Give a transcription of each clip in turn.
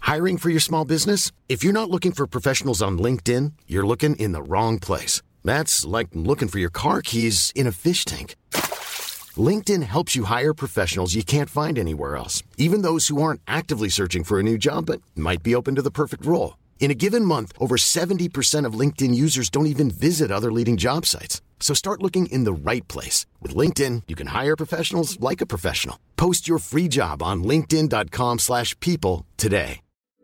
Hiring for your small business? If you're not looking for professionals on LinkedIn, you're looking in the wrong place. That's like looking for your car keys in a fish tank. LinkedIn helps you hire professionals you can't find anywhere else, even those who aren't actively searching for a new job but might be open to the perfect role. In a given month, over 70% of LinkedIn users don't even visit other leading job sites. So start looking in the right place. With LinkedIn, you can hire professionals like a professional. Post your free job on linkedin.com/people today.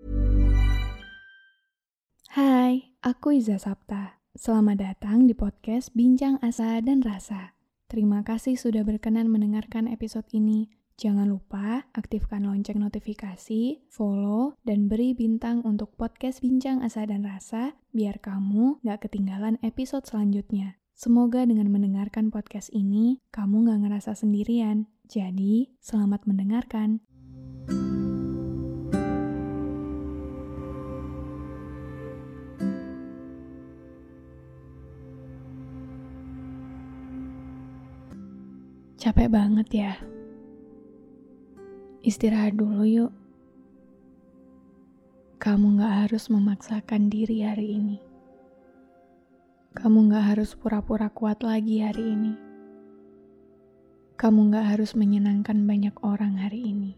Hai, aku Iza Sapta. Selamat datang di podcast Bincang Asa dan Rasa. Terima kasih sudah berkenan mendengarkan episode ini. Jangan lupa aktifkan lonceng notifikasi, follow, dan beri bintang untuk podcast Bincang Asa dan Rasa biar kamu gak ketinggalan episode selanjutnya. Semoga dengan mendengarkan podcast ini, kamu gak ngerasa sendirian. Jadi, selamat mendengarkan. Capek banget ya. Istirahat dulu yuk. Kamu gak harus memaksakan diri hari ini. Kamu gak harus pura-pura kuat lagi hari ini. Kamu gak harus menyenangkan banyak orang hari ini.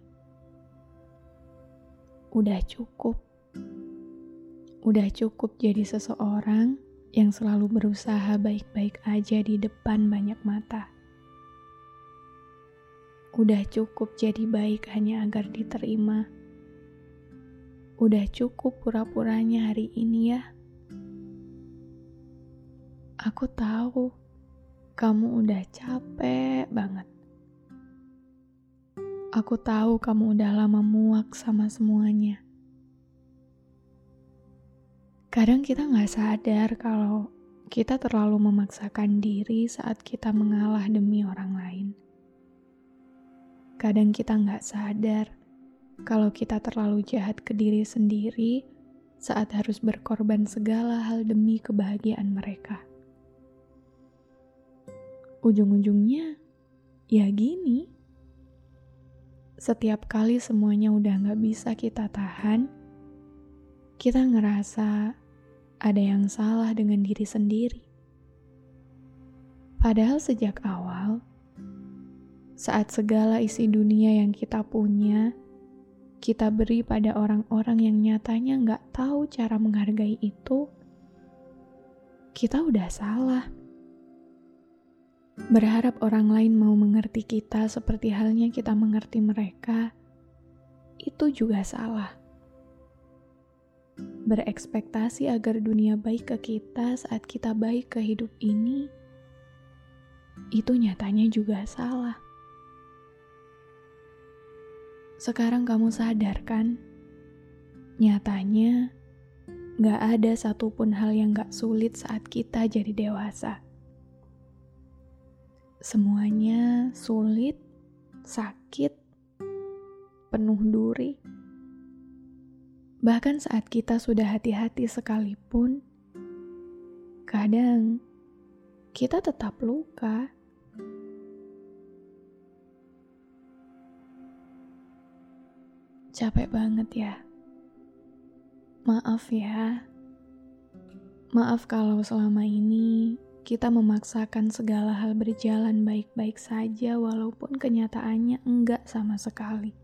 Udah cukup. Udah cukup jadi seseorang yang selalu berusaha baik-baik aja di depan banyak mata. Udah cukup jadi baik hanya agar diterima. Udah cukup pura-puranya hari ini ya. Aku tahu kamu udah capek banget. Aku tahu kamu udah lama muak sama semuanya. Kadang kita gak sadar kalau kita terlalu memaksakan diri saat kita mengalah demi orang lain. Kadang kita gak sadar kalau kita terlalu jahat ke diri sendiri saat harus berkorban segala hal demi kebahagiaan mereka. Ujung-ujungnya, ya gini. Setiap kali semuanya udah gak bisa kita tahan, kita ngerasa ada yang salah dengan diri sendiri. Padahal sejak awal, saat segala isi dunia yang kita punya, kita beri pada orang-orang yang nyatanya gak tahu cara menghargai itu, kita udah salah. Berharap orang lain mau mengerti kita seperti halnya kita mengerti mereka, itu juga salah. Berekspektasi agar dunia baik ke kita saat kita baik ke hidup ini, itu nyatanya juga salah. Sekarang kamu sadar kan? Nyatanya, gak ada satupun hal yang gak sulit saat kita jadi dewasa. Semuanya sulit, sakit, penuh duri. Bahkan saat kita sudah hati-hati sekalipun, kadang kita tetap luka. Capek banget ya. Maaf ya. Maaf kalau selama ini kita memaksakan segala hal berjalan baik-baik saja walaupun kenyataannya enggak sama sekali.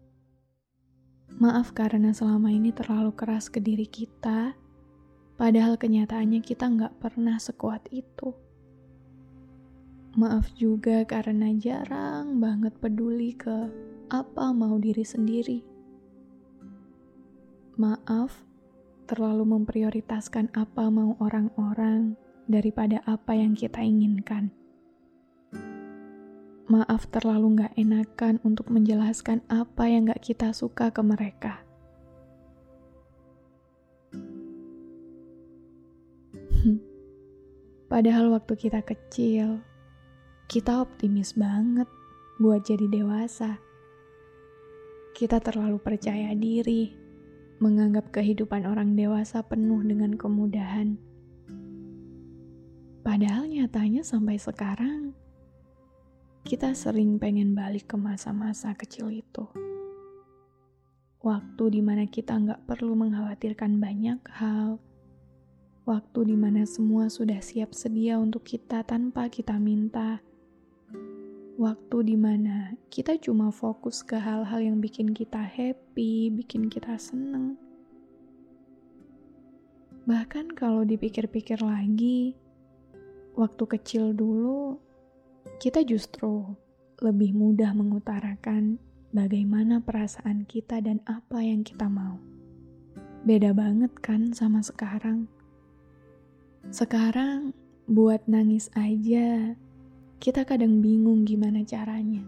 Maaf karena selama ini terlalu keras ke diri kita, padahal kenyataannya kita enggak pernah sekuat itu. Maaf juga karena jarang banget peduli ke apa mau diri sendiri. Maaf, terlalu memprioritaskan apa mau orang-orang daripada apa yang kita inginkan. Maaf terlalu gak enakan untuk menjelaskan apa yang gak kita suka ke mereka. Padahal waktu kita kecil, kita optimis banget buat jadi dewasa. Kita terlalu percaya diri, menganggap kehidupan orang dewasa penuh dengan kemudahan. Padahal nyatanya sampai sekarang, kita sering pengen balik ke masa-masa kecil itu. Waktu dimana kita nggak perlu mengkhawatirkan banyak hal. Waktu dimana semua sudah siap sedia untuk kita tanpa kita minta. Waktu dimana kita cuma fokus ke hal-hal yang bikin kita happy, bikin kita seneng. Bahkan kalau dipikir-pikir lagi, waktu kecil dulu, kita justru lebih mudah mengutarakan bagaimana perasaan kita dan apa yang kita mau. Beda banget kan sama sekarang. Sekarang, buat nangis aja, kita kadang bingung gimana caranya.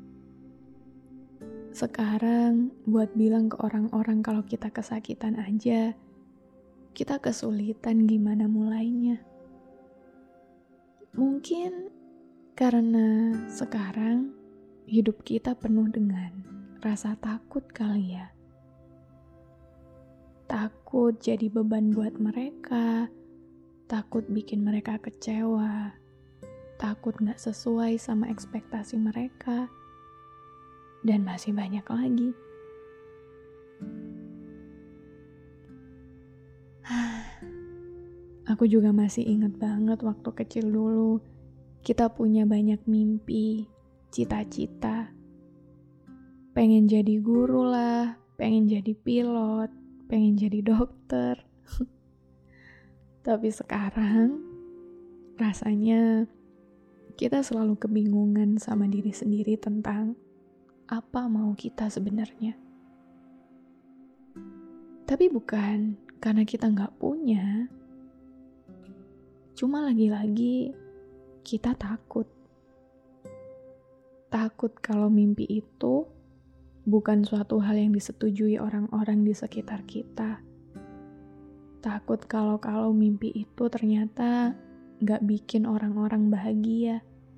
Sekarang, buat bilang ke orang-orang kalau kita kesakitan aja, kita kesulitan gimana mulainya. Mungkin karena sekarang hidup kita penuh dengan rasa takut kali ya. Takut jadi beban buat mereka, takut bikin mereka kecewa, takut gak sesuai sama ekspektasi mereka, dan masih banyak lagi. Aku juga masih ingat banget waktu kecil dulu, kita punya banyak mimpi, cita-cita. Pengen jadi guru lah, pengen jadi pilot, pengen jadi dokter. Tapi sekarang, rasanya kita selalu kebingungan sama diri sendiri tentang apa mau kita sebenarnya. Tapi bukan karena kita nggak punya, cuma lagi-lagi kita takut. Takut kalau mimpi itu bukan suatu hal yang disetujui orang-orang di sekitar kita. Takut kalau mimpi itu ternyata gak bikin orang-orang bahagia.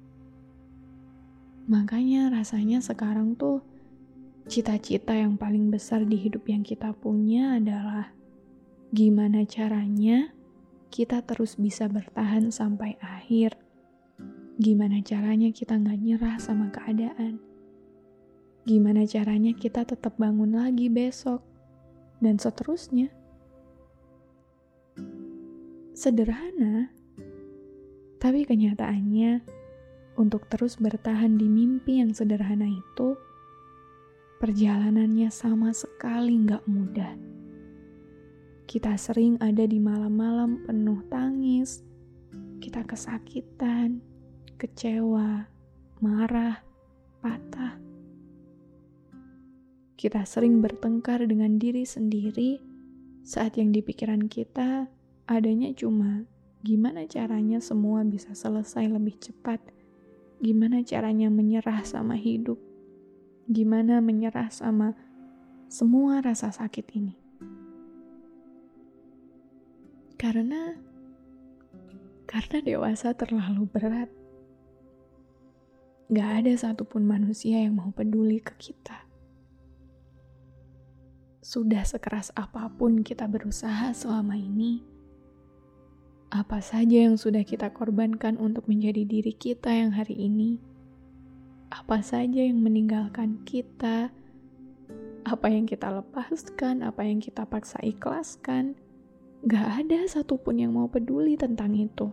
Makanya rasanya sekarang tuh cita-cita yang paling besar di hidup yang kita punya adalah gimana caranya kita terus bisa bertahan sampai akhir. Gimana caranya kita gak nyerah sama keadaan. Gimana caranya kita tetap bangun lagi besok, dan seterusnya. Sederhana, tapi kenyataannya untuk terus bertahan di mimpi yang sederhana itu, perjalanannya sama sekali gak mudah. Kita sering ada di malam-malam penuh tangis, kita kesakitan, kecewa, marah, patah. Kita sering bertengkar dengan diri sendiri saat yang di pikiran kita adanya cuma gimana caranya semua bisa selesai lebih cepat, gimana caranya menyerah sama hidup, gimana menyerah sama semua rasa sakit ini. Karena dewasa terlalu berat. Gak ada satupun manusia yang mau peduli ke kita. Sudah sekeras apapun kita berusaha selama ini, apa saja yang sudah kita korbankan untuk menjadi diri kita yang hari ini, apa saja yang meninggalkan kita, apa yang kita lepaskan, apa yang kita paksa ikhlaskan, gak ada satupun yang mau peduli tentang itu.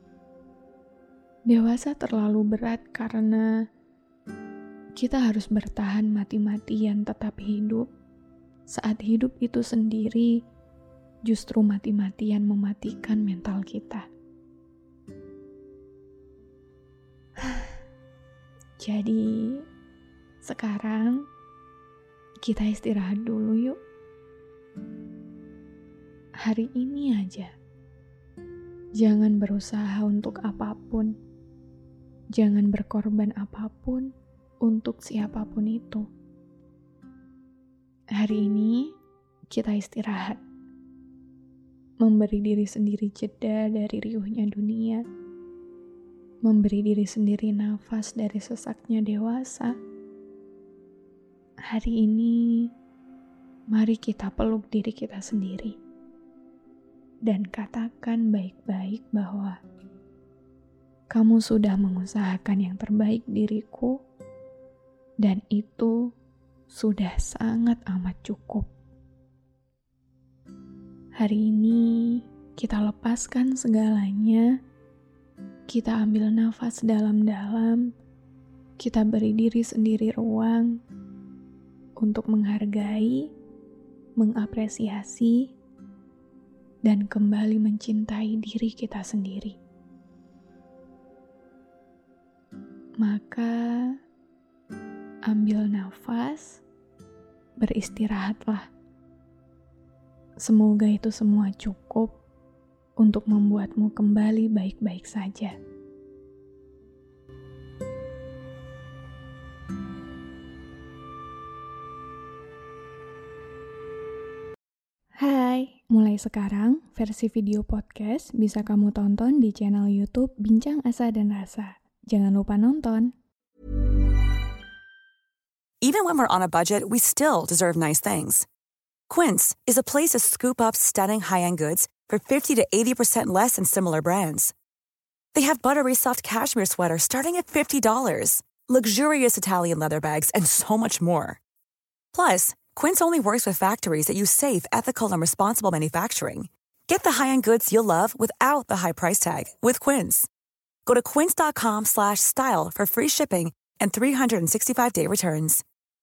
Dewasa terlalu berat karena kita harus bertahan mati-matian tetap hidup, saat hidup itu sendiri justru mati-matian mematikan mental kita. Jadi, sekarang kita istirahat dulu yuk. Hari ini aja. Jangan berusaha untuk apapun. Jangan berkorban apapun untuk siapapun itu. Hari ini kita istirahat. Memberi diri sendiri jeda dari riuhnya dunia. Memberi diri sendiri nafas dari sesaknya dewasa. Hari ini, mari kita peluk diri kita sendiri. Dan katakan baik-baik bahwa kamu sudah mengusahakan yang terbaik diriku, dan itu sudah sangat amat cukup. Hari ini kita lepaskan segalanya, kita ambil nafas dalam-dalam, kita beri diri sendiri ruang untuk menghargai, mengapresiasi, dan kembali mencintai diri kita sendiri. Maka, ambil nafas, beristirahatlah. Semoga itu semua cukup untuk membuatmu kembali baik-baik saja. Hai, mulai sekarang versi video podcast bisa kamu tonton di channel YouTube Bincang Asa dan Rasa. Jangan lupa nonton. Even when we're on a budget, we still deserve nice things. Quince is a place to scoop up stunning high-end goods for 50 to 80% less than similar brands. They have buttery soft cashmere sweaters starting at $50, luxurious Italian leather bags, and so much more. Plus, Quince only works with factories that use safe, ethical, and responsible manufacturing. Get the high-end goods you'll love without the high price tag with Quince. Go to quince.com/style for free shipping and 365-day returns.